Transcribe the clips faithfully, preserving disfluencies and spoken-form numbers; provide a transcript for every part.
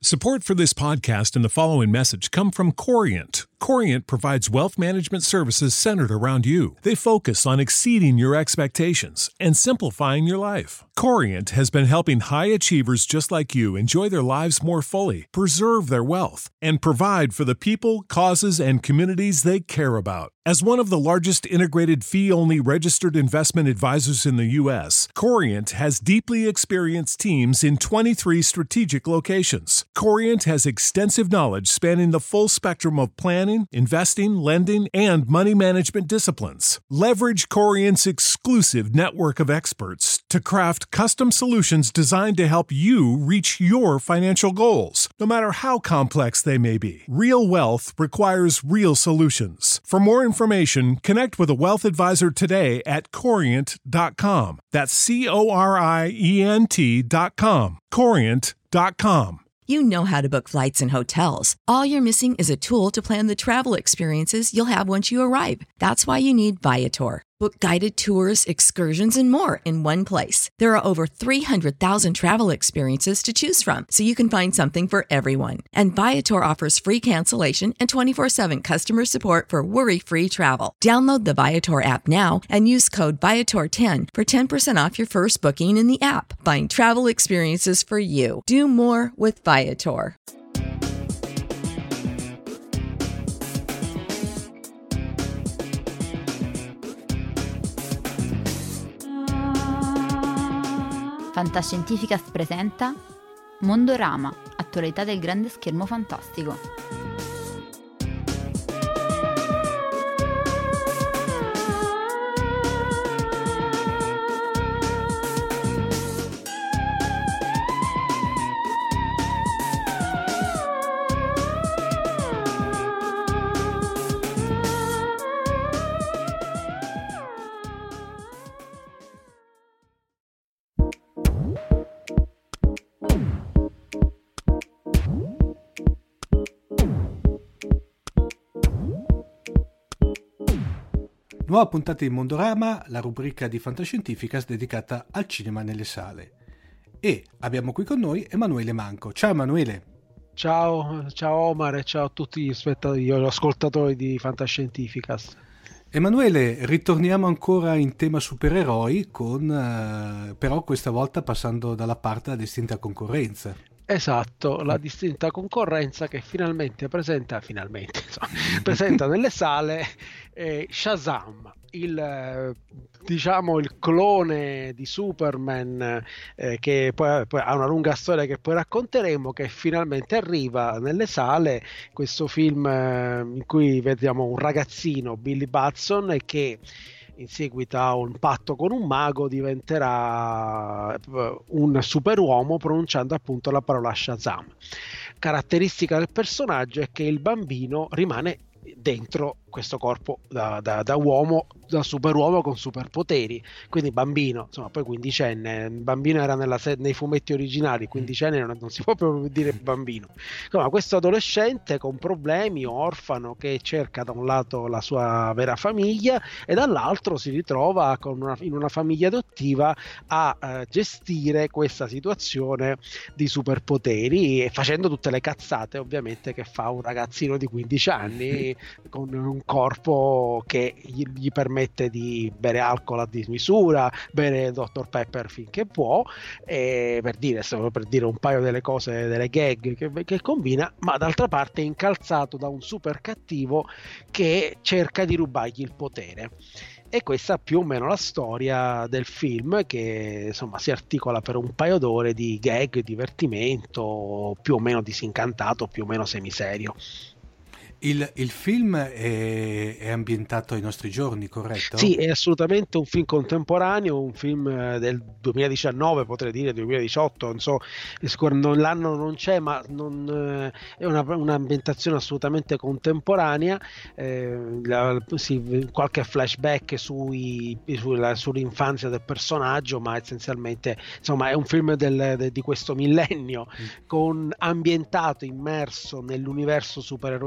Support for this podcast and the following message come from Corient. Corient provides wealth management services centered around you. They focus on exceeding your expectations and simplifying your life. Corient has been helping high achievers just like you enjoy their lives more fully, preserve their wealth, and provide for the people, causes, and communities they care about. As one of the largest integrated fee-only registered investment advisors in the U S, Corient has deeply experienced teams in twenty-three strategic locations. Corient has extensive knowledge spanning the full spectrum of planning, investing, lending, and money management disciplines. Leverage Corient's exclusive network of experts to craft custom solutions designed to help you reach your financial goals, no matter how complex they may be. Real wealth requires real solutions. For more information, connect with a wealth advisor today at corient dot com. That's C O R I E N T dot com. corient dot com. You know how to book flights and hotels. All you're missing is a tool to plan the travel experiences you'll have once you arrive. That's why you need Viator. Book guided tours, excursions, and more in one place. There are over three hundred thousand travel experiences to choose from, so you can find something for everyone. And Viator offers free cancellation and twenty-four seven customer support for worry-free travel. Download the Viator app now and use code Viator ten for ten percent off your first booking in the app. Find travel experiences for you. Do more with Viator. Fantascientificast presenta Mondorama, attualità del grande schermo fantastico. Nuova puntata di Mondorama, la rubrica di Fantascientificast dedicata al cinema nelle sale. E abbiamo qui con noi Emanuele Manco. Ciao Emanuele. Ciao, ciao Omar e ciao a tutti gli spettatori, gli ascoltatori di Fantascientificast. Emanuele, ritorniamo ancora in tema supereroi, con eh, però questa volta passando dalla parte della distinta concorrenza. Esatto, la distinta concorrenza che finalmente presenta, finalmente, insomma, presenta nelle sale eh, Shazam, il eh, diciamo il clone di Superman eh, che poi, poi ha una lunga storia che poi racconteremo, che finalmente arriva nelle sale. Questo film eh, in cui vediamo un ragazzino, Billy Batson, che in seguito a un patto con un mago diventerà un superuomo pronunciando appunto la parola Shazam. Caratteristica del personaggio è che il bambino rimane dentro questo corpo da, da, da uomo, da superuomo con superpoteri, quindi bambino, insomma, poi quindicenne. Il bambino era nella, nei fumetti originali, quindicenne non, non si può proprio dire bambino. Insomma, questo adolescente con problemi, orfano, che cerca da un lato la sua vera famiglia e dall'altro si ritrova con una, in una famiglia adottiva a uh, gestire questa situazione di superpoteri, e facendo tutte le cazzate ovviamente che fa un ragazzino di quindici anni con un corpo che gli, gli permette di bere alcol a dismisura, bere doctor Pepper finché può, e per dire, solo per dire un paio delle cose, delle gag che, che combina, ma d'altra parte è incalzato da un super cattivo che cerca di rubargli il potere. E questa è più o meno la storia del film, che insomma si articola per un paio d'ore di gag, divertimento, più o meno disincantato, più o meno semiserio. Il, il film è, è ambientato ai nostri giorni, corretto? Sì, è assolutamente un film contemporaneo, un film del duemiladiciannove, potrei dire duemiladiciotto, non so, non, l'anno non c'è, ma non, è una, un'ambientazione assolutamente contemporanea. Eh, la, sì, qualche flashback sui, sulla, sull'infanzia del personaggio, ma essenzialmente insomma è un film del, de, di questo millennio, mm. con ambientato, immerso nell'universo supereroistico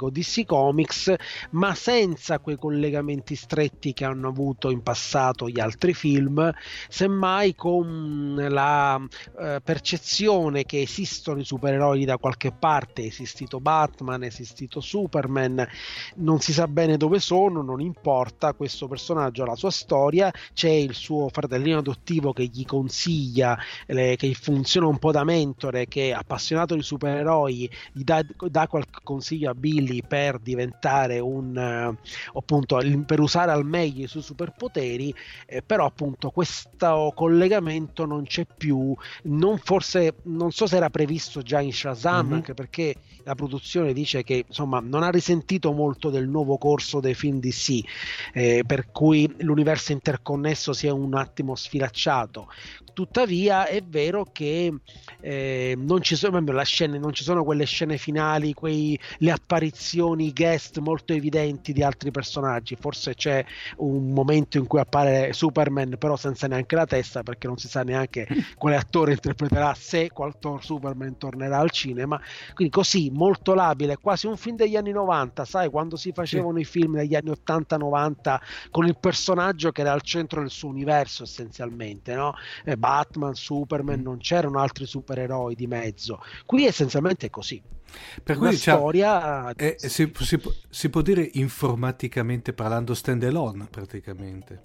classico D C Comics, ma senza quei collegamenti stretti che hanno avuto in passato gli altri film, semmai con la eh, percezione che esistono i supereroi da qualche parte, è esistito Batman, è esistito Superman, non si sa bene dove sono, non importa, questo personaggio ha la sua storia, c'è il suo fratellino adottivo che gli consiglia, le, che funziona un po' da mentore, che è appassionato di supereroi, gli dà, dà qualche consiglio a Billy per diventare un uh, appunto per usare al meglio i suoi superpoteri, eh, però appunto questo collegamento non c'è più, non forse non so se era previsto già in Shazam, mm-hmm. anche perché la produzione dice che insomma non ha risentito molto del nuovo corso dei film D C, eh, per cui l'universo interconnesso si è un attimo sfilacciato. Tuttavia è vero che eh, non ci sono la scene, non ci sono quelle scene finali, quei, le apparizioni guest molto evidenti di altri personaggi. Forse c'è un momento in cui appare Superman però senza neanche la testa, perché non si sa neanche quale attore interpreterà, se qual Superman tornerà al cinema. Quindi così, molto labile, quasi un film degli anni novanta, sai, quando si facevano sì. i film degli anni ottanta novanta con il personaggio che era al centro del suo universo essenzialmente, no? Eh, Batman, Superman, non c'erano altri supereroi di mezzo. Qui essenzialmente è così. Per una cui diciamo, storia è, si, si, si può dire informaticamente parlando stand alone praticamente.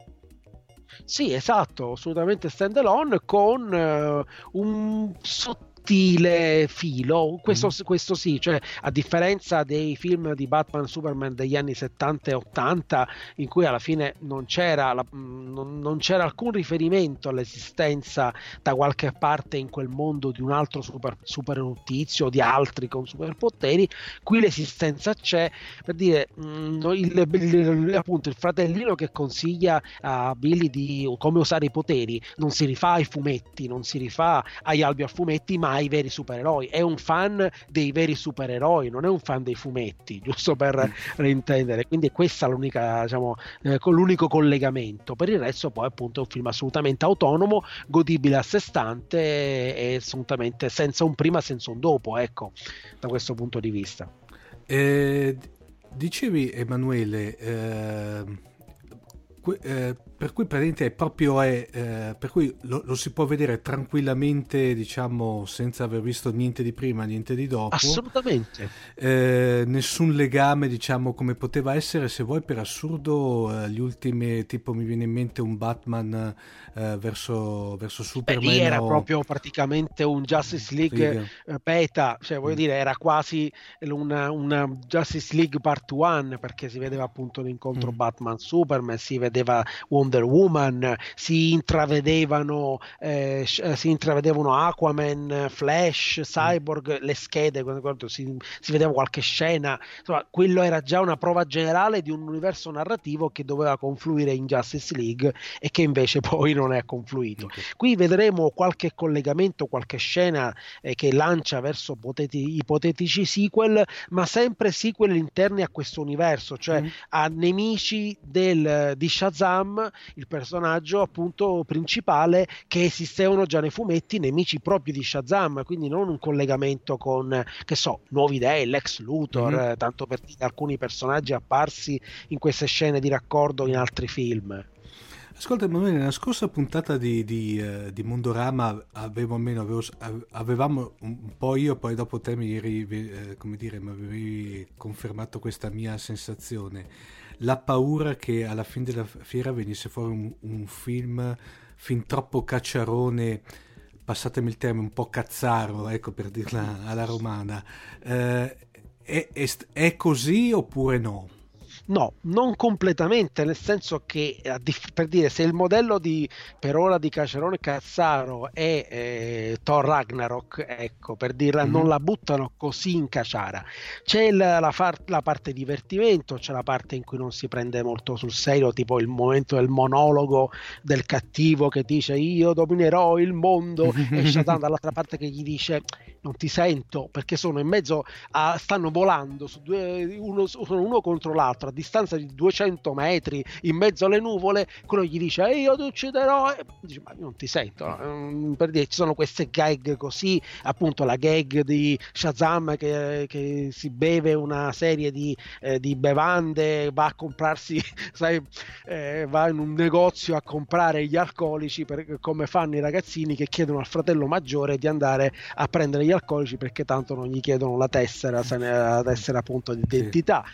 Sì, esatto, assolutamente stand alone, con uh, un sottile filo, questo, mm. questo sì, cioè a differenza dei film di Batman Superman degli anni settanta e ottanta, in cui alla fine non c'era, la, non, non c'era alcun riferimento all'esistenza da qualche parte in quel mondo di un altro super, super tizio o di altri con superpoteri, qui l'esistenza c'è, per dire mh, il, il, il, appunto il fratellino che consiglia a Billy di come usare i poteri non si rifà ai fumetti, non si rifà agli albi a fumetti, ma ai veri supereroi, è un fan dei veri supereroi, non è un fan dei fumetti, giusto per reintendere. Quindi questa è l'unica, diciamo, eh, con l'unico collegamento. Per il resto poi appunto è un film assolutamente autonomo, godibile a sé stante e assolutamente senza un prima senza un dopo, ecco, da questo punto di vista. Eh, dicevi Emanuele, eh... Eh, per cui praticamente è proprio è, eh, per cui lo, lo si può vedere tranquillamente, diciamo, senza aver visto niente di prima, niente di dopo. Assolutamente. Eh, nessun legame, diciamo, come poteva essere, se vuoi, per assurdo, eh, gli ultimi, tipo mi viene in mente un Batman eh, verso, verso Superman. Beh, lì era o... proprio praticamente un Justice League eh, beta, cioè voglio mm. dire, era quasi una, una Justice League Part uno, perché si vedeva appunto l'incontro mm. Batman Superman, si vedeva Wonder Woman, si intravedevano eh, si intravedevano Aquaman, Flash, Cyborg, mm. le schede, quando si, si vedeva qualche scena, insomma quello era già una prova generale di un universo narrativo che doveva confluire in Justice League e che invece poi non è confluito. Okay. Qui vedremo qualche collegamento, qualche scena eh, che lancia verso poteti- ipotetici sequel, ma sempre sequel interni a questo universo, cioè mm. a nemici del, di Shazam, il personaggio appunto principale, che esistevano già nei fumetti, nemici proprio di Shazam, quindi non un collegamento con, che so, Nuovi Dei, Lex Luthor, mm-hmm. eh, tanto per dire alcuni personaggi apparsi in queste scene di raccordo in altri film. Ascolta Emanuele, nella scorsa puntata di, di, uh, di Mondorama avevo almeno avevo, avevamo un po' io, poi dopo te mi eri, eh, come dire, mi avevi confermato questa mia sensazione, la paura che alla fine della fiera venisse fuori un, un film fin troppo cacciarone, passatemi il termine, un po' cazzaro, ecco, per dirla alla romana. Eh, è, è, è così oppure no? No, non completamente, nel senso che, per dire, se il modello di per ora di Cacerone Cazzaro è eh, Thor Ragnarok, ecco, per dirla, mm-hmm. non la buttano così in caciara. C'è la, la, far, la parte divertimento, c'è la parte in cui non si prende molto sul serio, tipo il momento del monologo del cattivo che dice io dominerò il mondo e Shazam dall'altra parte che gli dice non ti sento perché sono in mezzo a, stanno volando su due, uno, sono uno contro l'altro a distanza di duecento metri in mezzo alle nuvole, quello gli dice e io ti ucciderò, e dice ma io non ti sento, no? Per dire, ci sono queste gag così, appunto la gag di Shazam che, che si beve una serie di, eh, di bevande, va a comprarsi sai, eh, va in un negozio a comprare gli alcolici per, come fanno i ragazzini che chiedono al fratello maggiore di andare a prendere gli alcolici perché tanto non gli chiedono la tessera, la tessera appunto di identità.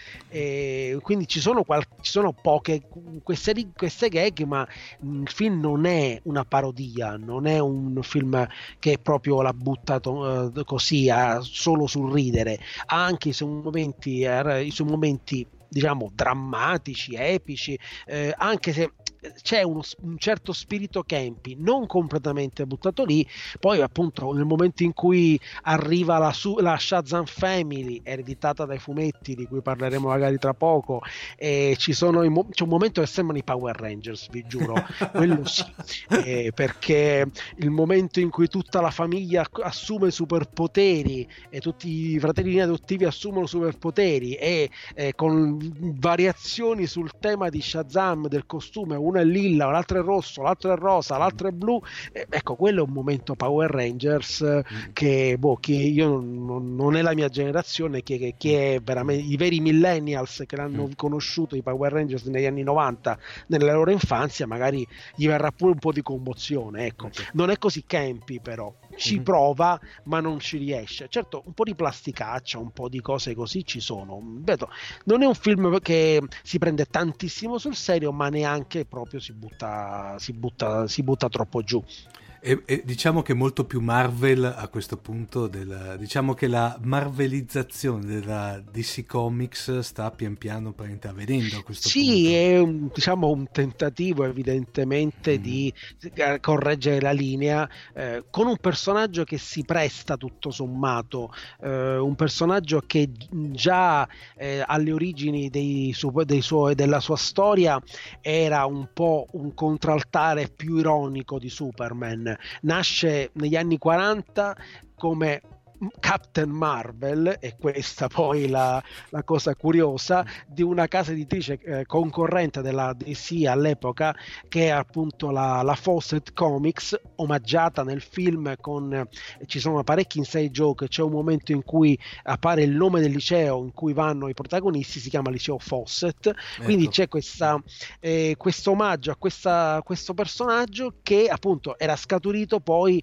E quindi ci sono, qual- ci sono poche queste, queste gag, ma il film non è una parodia, non è un film che proprio l'ha buttato uh, così a, solo sul ridere, ha anche i suoi momenti, eh, i suoi momenti diciamo drammatici, epici, eh, anche se c'è uno, un certo spirito campy, non completamente buttato lì. Poi appunto nel momento in cui arriva la, su, la Shazam Family ereditata dai fumetti di cui parleremo magari tra poco, e ci sono i, c'è un momento che sembrano i Power Rangers, vi giuro, quello sì, eh, perché il momento in cui tutta la famiglia assume superpoteri e tutti i fratellini adottivi assumono superpoteri e eh, con variazioni sul tema di Shazam del costume, uno è lilla, l'altro è rosso, l'altro è rosa, l'altro è blu, eh, ecco, quello è un momento Power Rangers mm. che, boh, che io non, non è la mia generazione, che, che, che è veramente i veri millennials che l'hanno mm. conosciuto i Power Rangers negli anni novanta nella loro infanzia, magari gli verrà pure un po' di commozione, ecco. Okay. Non è così campy, però ci mm-hmm. prova ma non ci riesce. Certo, un po' di plasticaccia, un po' di cose così ci sono, vedo. Non è un film che si prende tantissimo sul serio, ma neanche proprio si butta, si butta, si butta troppo giù. E, e diciamo che è molto più Marvel a questo punto, del, diciamo che la marvelizzazione della D C Comics sta pian piano avvenendo a questo sì, punto. Sì, è un, diciamo un tentativo evidentemente mm. di correggere la linea eh, con un personaggio che si presta tutto sommato, eh, un personaggio che già eh, alle origini dei su, dei suoi, della sua storia era un po' un contraltare più ironico di Superman. Nasce negli anni quaranta come Captain Marvel, e questa poi la, la cosa curiosa di una casa editrice eh, concorrente della D C all'epoca, che è appunto la, la Fawcett Comics, omaggiata nel film con eh, ci sono parecchi inside joke. C'è un momento in cui appare il nome del liceo in cui vanno i protagonisti, si chiama liceo Fawcett, ecco. Quindi c'è questa eh, questo omaggio a questa, questo personaggio che appunto era scaturito poi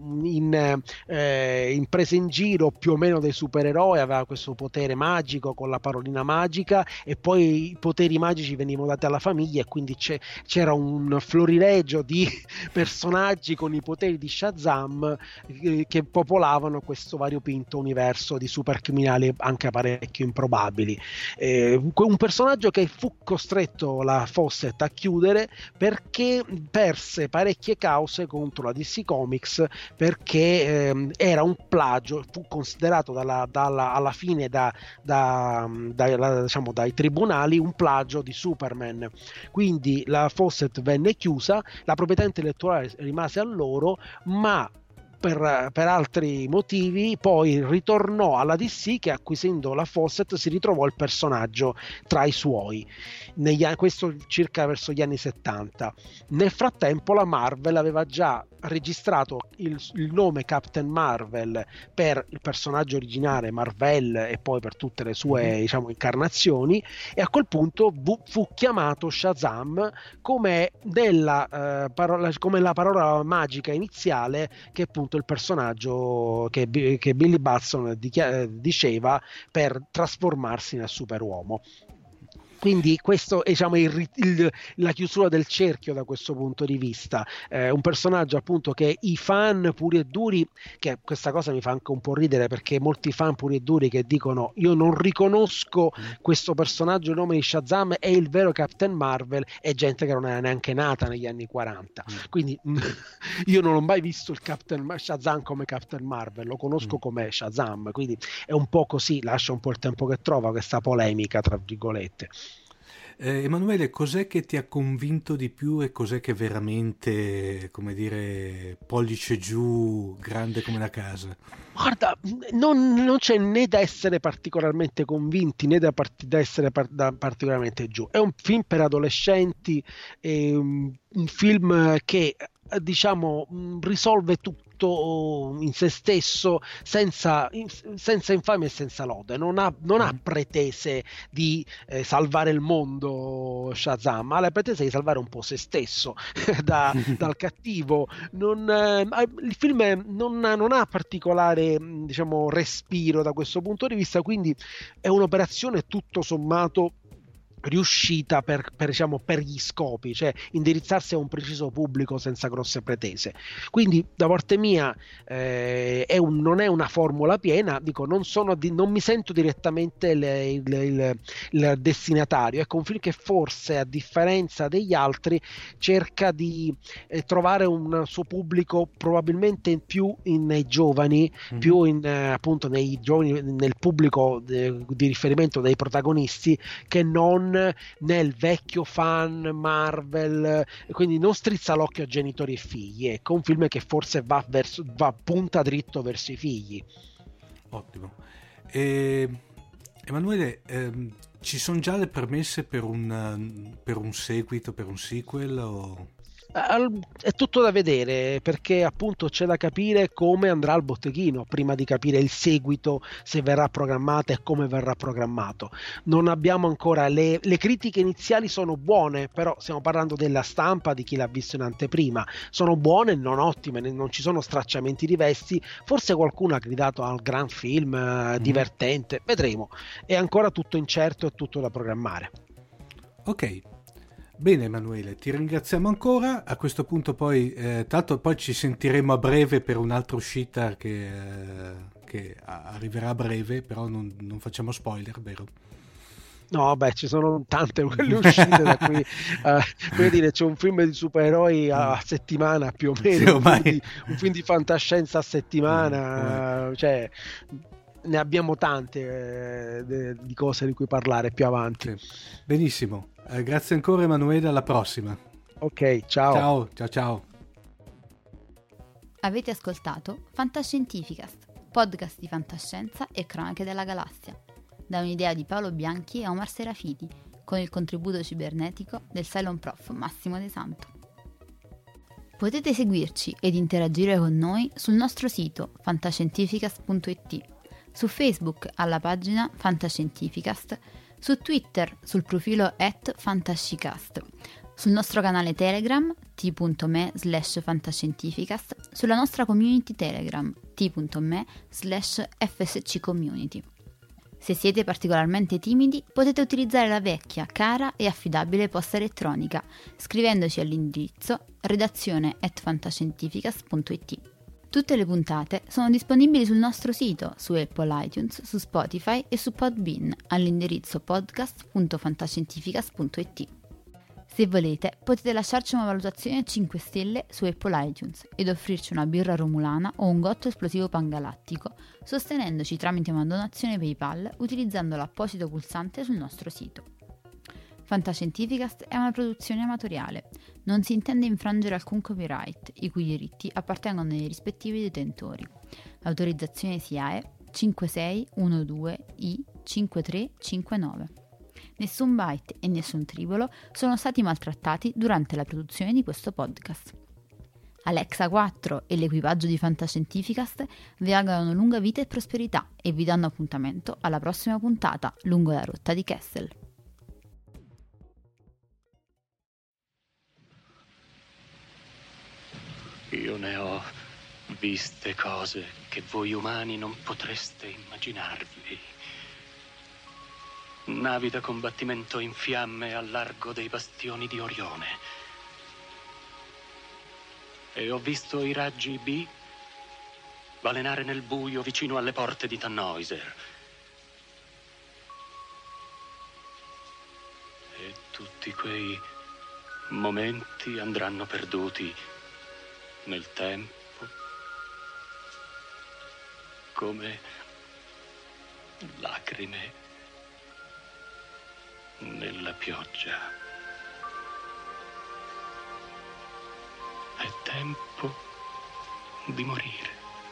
in, eh, in prese in giro più o meno dei supereroi, aveva questo potere magico con la parolina magica, e poi i poteri magici venivano dati alla famiglia, e quindi c'è, c'era un florilegio di personaggi con i poteri di Shazam eh, che popolavano questo variopinto universo di supercriminali anche parecchio improbabili. Eh, un personaggio che fu costretto la Fawcett a chiudere perché perse parecchie cause contro la D C Comics, perché eh, era un plagio, fu considerato dalla, dalla, alla fine da, da, da, da, diciamo, dai tribunali un plagio di Superman. Quindi la Fawcett venne chiusa, la proprietà intellettuale rimase a loro, ma Per, per altri motivi poi ritornò alla D C, che acquisendo la Fawcett si ritrovò il personaggio tra i suoi, negli, questo circa verso gli anni settanta. Nel frattempo la Marvel aveva già registrato il, il nome Captain Marvel per il personaggio originale Marvel e poi per tutte le sue mm-hmm. diciamo incarnazioni, e a quel punto fu, fu chiamato Shazam come, della, eh, parola, come la parola magica iniziale che appunto il personaggio che, che Billy Batson dichiar- diceva per trasformarsi nel superuomo. Quindi questo è, diciamo, il, il, la chiusura del cerchio da questo punto di vista. Eh, un personaggio appunto che i fan puri e duri, che questa cosa mi fa anche un po' ridere, perché molti fan puri e duri che dicono io non riconosco questo personaggio, il nome di Shazam è il vero Captain Marvel, è gente che non era neanche nata negli anni quaranta. Quindi io non ho mai visto il Captain Shazam come Captain Marvel, lo conosco come Shazam, quindi è un po' così, lascia un po' il tempo che trova questa polemica tra virgolette. Eh, Emanuele, cos'è che ti ha convinto di più e cos'è che veramente, come dire, pollice giù, grande come una casa? Guarda, non, non c'è né da essere particolarmente convinti né da, part- da essere par- da particolarmente giù. È un film per adolescenti, è un, un film che eh, diciamo mh, risolve tutto in se stesso senza, in- senza infamia e senza lode. Non ha, non ha Mm. pretese di eh, salvare il mondo Shazam, ha la pretesa di salvare un po' se stesso da- dal cattivo. Non, eh, il film è- non, non ha particolare mh, diciamo, respiro da questo punto di vista, quindi è un'operazione tutto sommato riuscita per, per, diciamo, per gli scopi, cioè indirizzarsi a un preciso pubblico senza grosse pretese. Quindi da parte mia eh, è un, non è una formula piena, dico, non, sono di, non mi sento direttamente il, il, il, il destinatario. Ecco, un film che forse a differenza degli altri cerca di eh, trovare un suo pubblico probabilmente più in, nei giovani, Mhm. più in, eh, appunto nei giovani, nel pubblico de, di riferimento dei protagonisti, che non nel vecchio fan Marvel, quindi non strizza l'occhio a genitori e figli. Ecco, un film che forse va, verso, va punta dritto verso i figli. Ottimo. E, Emanuele, ehm, ci sono già le premesse per un, per un seguito, per un sequel? O... È tutto da vedere, perché appunto c'è da capire come andrà al botteghino prima di capire il seguito, se verrà programmato e come verrà programmato. Non abbiamo ancora le, le critiche iniziali sono buone, però stiamo parlando della stampa, di chi l'ha visto in anteprima. Sono buone, non ottime, non ci sono stracciamenti di vesti. Forse qualcuno ha gridato al gran film, eh, divertente, vedremo. È ancora tutto incerto e tutto da programmare. Ok. Bene Emanuele, ti ringraziamo ancora. A questo punto poi, eh, tanto poi ci sentiremo a breve per un'altra uscita che, eh, che arriverà a breve, però non, non facciamo spoiler, vero? No, beh, ci sono tante quelle uscite da cui, eh, come dire, c'è un film di supereroi a settimana più o meno, Sì, un, film ormai. di, un film di fantascienza a settimana, Eh, cioè ne abbiamo tante eh, de- di cose di cui parlare più avanti. sì. Benissimo, eh, grazie ancora Emanuele, alla prossima. Ok, ciao. Ciao, ciao, ciao. Avete ascoltato Fantascientificast, podcast di fantascienza e cronache della galassia, da un'idea di Paolo Bianchi e Omar Serafiti, con il contributo cibernetico del Cylon Prof Massimo De Santo. Potete seguirci ed interagire con noi sul nostro sito fantascientificast punto it, su Facebook alla pagina Fantascientificast, su Twitter sul profilo at fantascicast, sul nostro canale Telegram t.me slash fantascientificast, sulla nostra community Telegram t.me slash fsccommunity. Se siete particolarmente timidi, potete utilizzare la vecchia, cara e affidabile posta elettronica, scrivendoci all'indirizzo redazione at fantascientificast punto it. Tutte le puntate sono disponibili sul nostro sito, su Apple iTunes, su Spotify e su Podbean, all'indirizzo podcast punto fantascientificast punto it. Se volete, potete lasciarci una valutazione a cinque stelle su Apple iTunes ed offrirci una birra romulana o un gotto esplosivo pangalattico, sostenendoci tramite una donazione PayPal utilizzando l'apposito pulsante sul nostro sito. Fantascientificast è una produzione amatoriale, non si intende infrangere alcun copyright, i cui diritti appartengono ai rispettivi detentori. Autorizzazione S I A E cinque sei uno due I cinque tre cinque nove. Nessun byte e nessun tribolo sono stati maltrattati durante la produzione di questo podcast. Alexa quattro e l'equipaggio di Fantascientificast vi augurano lunga vita e prosperità e vi danno appuntamento alla prossima puntata lungo la rotta di Kessel. Io ne ho viste cose che voi umani non potreste immaginarvi. Navi da combattimento in fiamme al largo dei bastioni di Orione. E ho visto i raggi B balenare nel buio vicino alle porte di Tannhäuser. E tutti quei momenti andranno perduti nel tempo, come lacrime nella pioggia. È tempo di morire.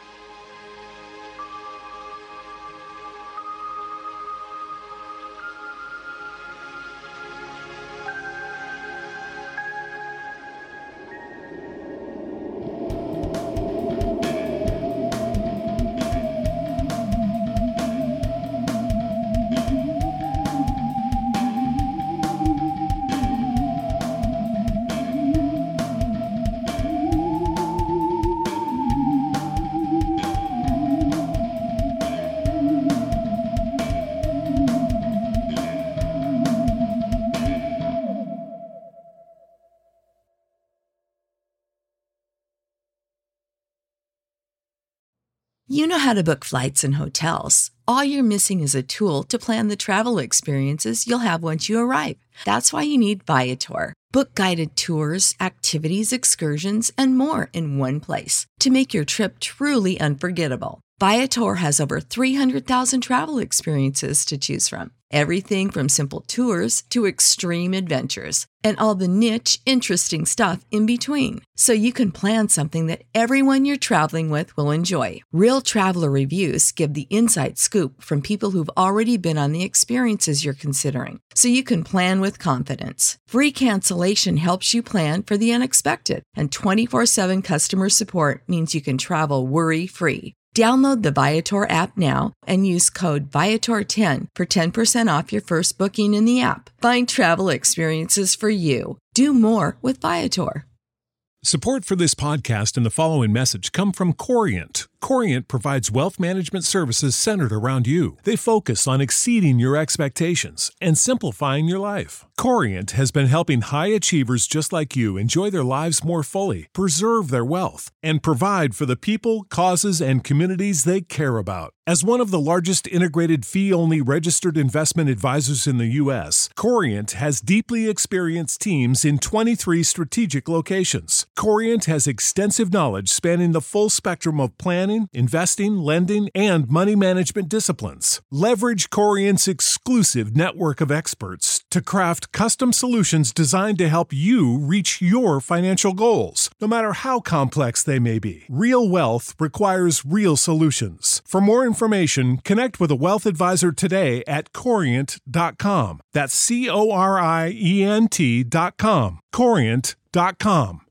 You know how to book flights and hotels. All you're missing is a tool to plan the travel experiences you'll have once you arrive. That's why you need Viator. Book guided tours, activities, excursions, and more in one place to make your trip truly unforgettable. Viator has over three hundred thousand travel experiences to choose from. Everything from simple tours to extreme adventures and all the niche, interesting stuff in between. So you can plan something that everyone you're traveling with will enjoy. Real traveler reviews give the inside scoop from people who've already been on the experiences you're considering. So you can plan with confidence. Free cancellation helps you plan for the unexpected. And twenty-four seven customer support means you can travel worry-free. Download the Viator app now and use code Viator ten for ten percent off your first booking in the app. Find travel experiences for you. Do more with Viator. Support for this podcast and the following message come from Corient. Corient provides wealth management services centered around you. They focus on exceeding your expectations and simplifying your life. Corient has been helping high achievers just like you enjoy their lives more fully, preserve their wealth, and provide for the people, causes, and communities they care about. As one of the largest integrated fee-only registered investment advisors in the U S, Corient has deeply experienced teams in twenty-three strategic locations. Corient has extensive knowledge spanning the full spectrum of planning, investing, lending, and money management disciplines. Leverage Corient's exclusive network of experts to craft custom solutions designed to help you reach your financial goals, no matter how complex they may be. Real wealth requires real solutions. For more information, connect with a wealth advisor today at corient dot com. That's C O R I E N T dot com. corient dot com.